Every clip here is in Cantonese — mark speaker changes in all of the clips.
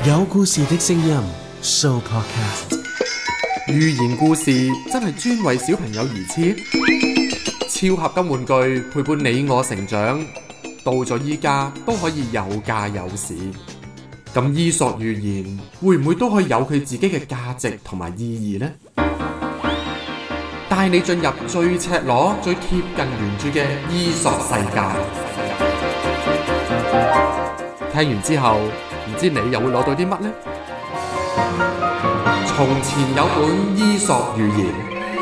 Speaker 1: 有故事的聲音 Show Podcast。
Speaker 2: 寓言故事真係專為小朋友而設，超合金玩具陪伴你我成長，到咗依家都可以有價有市。咁伊索寓言會唔會都可以有佢自己嘅價值同埋意義呢？帶你進入最赤裸、最貼近原著嘅伊索世界。聽完之後，唔知你又會攞到啲乜呢？從前有本伊索寓言，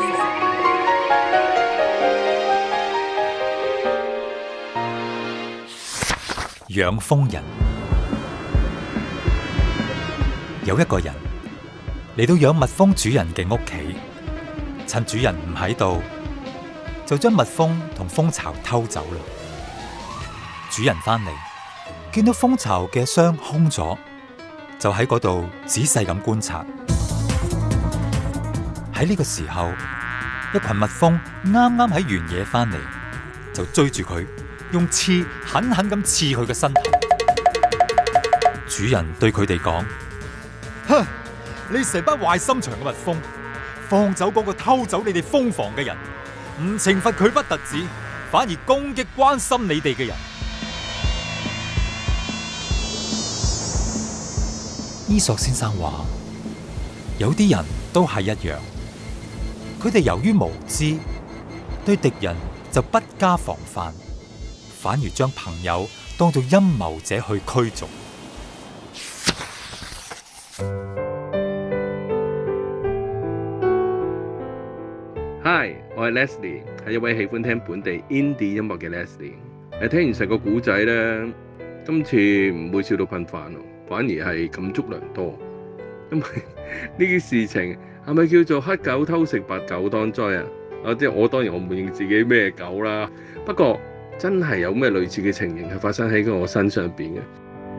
Speaker 3: 養蜂人。有一個人嚟到養蜜蜂主人嘅屋企，趁主人唔喺度，就將蜜蜂同蜂巢偷走啦。主人翻嚟，見到蜂巢嘅箱空咗，就喺嗰度仔細咁觀察。喺呢個時候，一群蜜蜂啱啱喺原野翻嚟，就追住佢，用刺狠狠咁刺佢嘅身體。主人對佢哋講：哼，你成班壞心腸嘅蜜蜂，放走嗰個偷走你哋蜂房嘅人，唔懲罰佢不特止，反而攻擊關心你哋嘅人。伊索先生話：有啲人都係一樣，佢哋由於無知，對敵人就不加防範，反而將朋友當作陰謀者去驅逐。
Speaker 4: Hi， 我係 Leslie， 係一位喜歡聽本地 indie 音樂嘅 Leslie。聽完成個古仔咧，今次唔會笑到噴飯咯，反而係感觸良多。因為呢啲事情係咪叫做黑狗偷食白狗當災啊？即係我當然我唔認自己咩狗啦，不過真係有咩類似嘅情形係發生喺我身上邊嘅。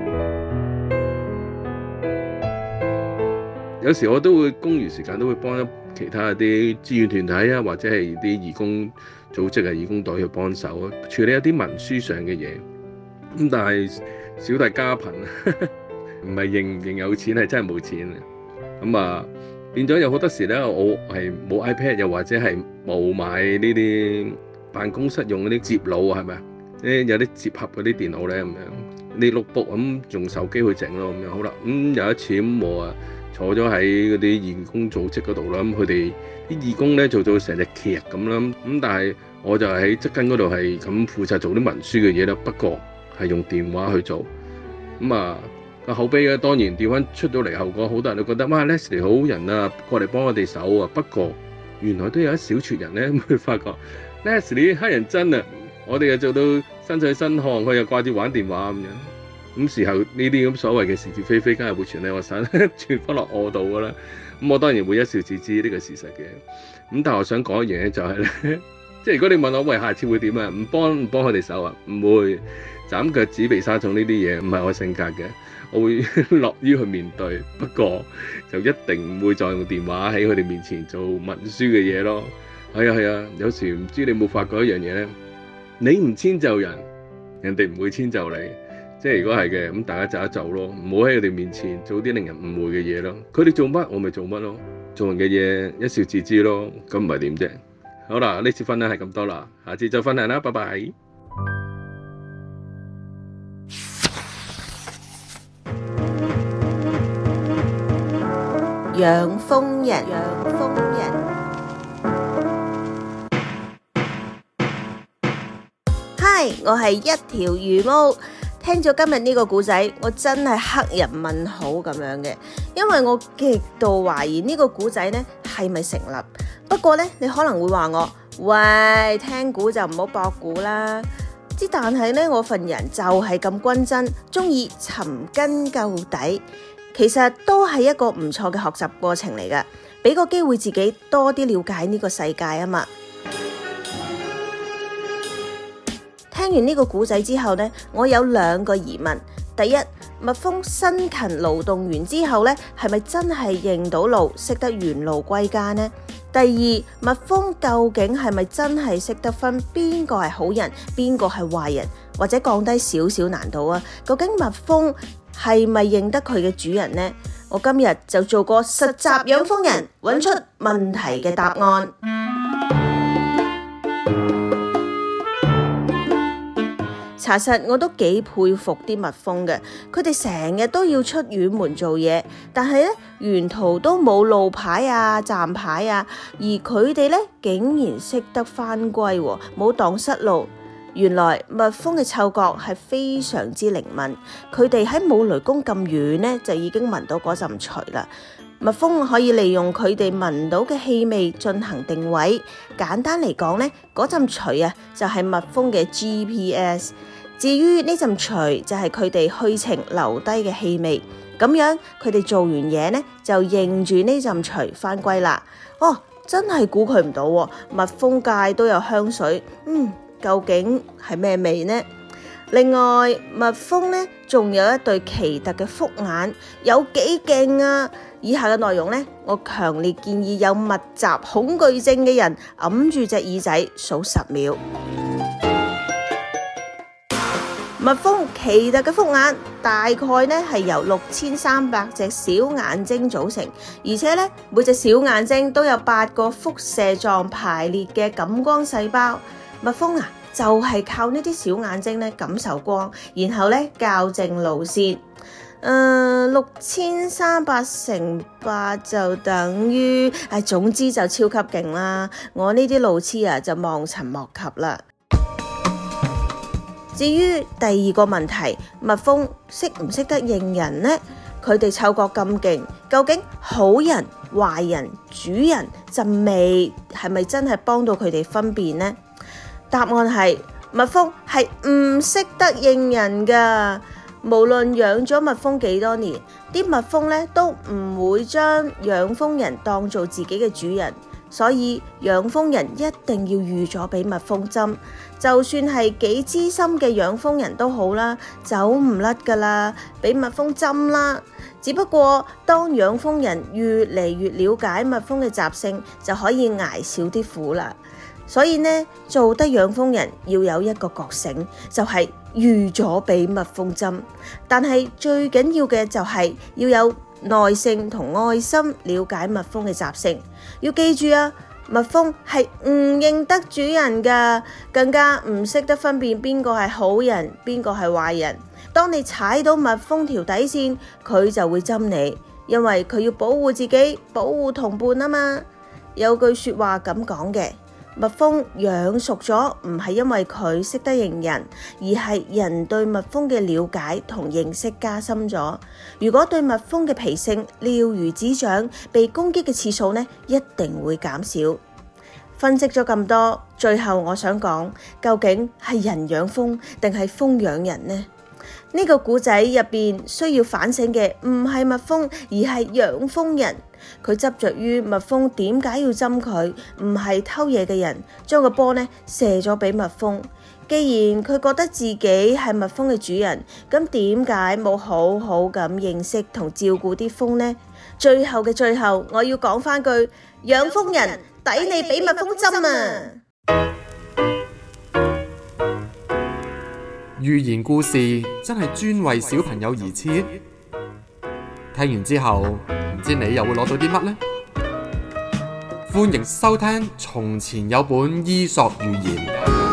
Speaker 4: 有時我都會公餘時間都會幫其他啲志願團體啊，或者係啲義工組織啊、義工隊去幫手處理一啲文書上嘅嘢。咁但係小弟家貧，唔係認有錢，係真係冇錢。咁啊變咗有好多時咧，我係冇 iPad， 又或者係冇買呢啲辦公室用嗰啲摺腦啊，係咪啊？有啲摺合嗰啲電腦咧咁樣，你 notebook 咁用手機去整咯咁樣。好啦，有一次咁我啊〜坐咗喺嗰啲義工組織嗰度啦，咁佢哋啲義工咧做到成隻劇咁啦，咁但係我就喺側跟嗰度係咁負責做啲文書嘅嘢啦，不過係用電話去做，咁啊個口碑咧當然調翻出到嚟後果，好多人都覺得哇 Leslie 好人啊，過嚟幫我哋手啊，不過原來都有一小撮人咧會發覺 Leslie 黑人憎啊，我哋又做到身水身汗，佢又掛住玩電話咁樣。咁時候呢啲咁所謂嘅是是非非，梗係會傳喺我身，傳翻落我度噶啦。咁我當然會一笑置之呢個事實嘅。咁但係我想講一樣嘢就係咧，即係如果你問我喂下次會點啊？唔幫佢哋手啊？唔會斬腳趾避沙蟲呢啲嘢，唔係我性格嘅。我會樂於去面對，不過就一定唔會再用電話喺佢哋面前做文書嘅嘢咯。係啊，有時唔知你有冇發覺一樣嘢咧？你唔遷就人，人哋唔會遷就你。即係如果係嘅，咁大家就一就咯，唔好喺佢哋面前做啲令人誤會嘅嘢咯。佢哋做乜，我咪做乜咯。做人嘅嘢一笑置之咯，咁唔係點啫？好啦，呢次分享係咁多啦，下次再分享啦，拜拜。
Speaker 5: 養蜂人。Hi， 我係一條魚毛。聽咗今日呢個故仔，我真係黑人問號咁樣嘅，因為我極度懷疑呢個故仔呢係咪成立。不過呢，你可能會話我，喂，聽估就唔好博估啦。但係呢，我份人就係咁均真，中意尋根究底。其實都係一個唔錯嘅學習過程嚟㗎，俾個機會自己多啲了解呢個世界啊嘛。聽完呢個故仔之後呢，我有2個疑問。第一，蜜蜂辛勤勞動完之後呢，係咪真係認到路，識得原路歸家呢？第二，蜜蜂究竟係咪真係識得分邊個係好人，邊個係壞人，或者降低少少難度啊？究竟蜜蜂係咪認得佢嘅主人呢？我今日就做個實習養蜂人，揾出問題嘅答案。查實我都幾佩服啲蜜蜂嘅，佢哋成日都要出遠門做嘢，但係咧沿途都冇路牌啊、站牌啊，而佢哋咧竟然識得返歸喎，冇蕩失路。原來蜜蜂嘅嗅覺係非常之靈敏，佢哋喺冇雷公咁遠咧就已經聞到嗰陣除啦。蜜蜂可以利用佢哋聞到嘅氣味進行定位，簡單嚟講咧，嗰陣除啊就係蜜蜂嘅 GPS。至於呢陣除就係佢哋去程留低嘅氣味，咁樣佢哋做完嘢呢，就認住呢陣除返歸啦。真係估佢唔到喎，蜜蜂界都有香水，究竟係咩味呢？另外，蜜蜂呢仲有一對奇特嘅複眼，有幾勁啊！以下嘅內容呢，我強烈建議有密集恐懼症嘅人揞住隻耳仔數10秒。蜜蜂奇特嘅複眼大概呢係由6300隻小眼睛組成，而且呢每隻小眼睛都有8個輻射狀排列嘅感光細胞。蜜蜂啊，就係靠呢啲小眼睛呢感受光，然後呢校正路線。6300乘8就等於，總之就超級勁啦。我呢啲路痴啊就望塵莫及啦。至於第二個問題，蜜蜂識唔識得認人呢？佢哋嗅覺咁勁，究竟好人、壞人、主人陣味係咪真係幫到佢哋分辨呢？答案係蜜蜂係唔識得認人㗎。無論養咗蜜蜂幾多年，啲蜜蜂咧都唔會將養蜂人當做自己嘅主人。所以養蜂人一定要預咗俾蜜蜂針，就算係幾資深嘅養蜂人都好啦，走唔甩噶啦，俾蜜蜂針啦。只不過當養蜂人越嚟越了解蜜蜂嘅習性，就可以捱少啲苦啦。所以呢，做得養蜂人要有一個覺醒，就係預咗俾蜜蜂針。但係最緊要嘅就係要有耐性同愛心，了解蜜蜂嘅習性。要記住啊，蜜蜂係唔認得主人噶，更加唔識得分辨邊個係好人，邊個係壞人。當你踩到蜜蜂條底線，佢就會針你，因為佢要保護自己，保護同伴啊嘛。有句說話咁講嘅，蜜蜂養熟咗唔係因為佢識得認人，而係人對蜜蜂嘅了解同認識加深咗。如果對蜜蜂嘅脾性了如指掌，被攻擊嘅次數呢一定會減少。分析咗咁多，最後我想講，究竟係人養蜂定係蜂養人呢？呢個故仔入邊需要反省嘅唔係蜜蜂，而係養蜂人。佢執着於蜜蜂點解要針佢，唔係偷嘢嘅人將個波呢射咗俾蜜蜂。既然佢覺得自己係蜜蜂嘅主人，咁點解冇好好咁認識同照顧啲蜂呢？最後嘅最後，我要講翻句：養蜂人抵你俾蜜蜂針啊！
Speaker 2: 寓言故事真係專為小朋友而設，聽完之後唔知你又會攞到啲乜呢？歡迎收聽《從前有本伊索寓言》。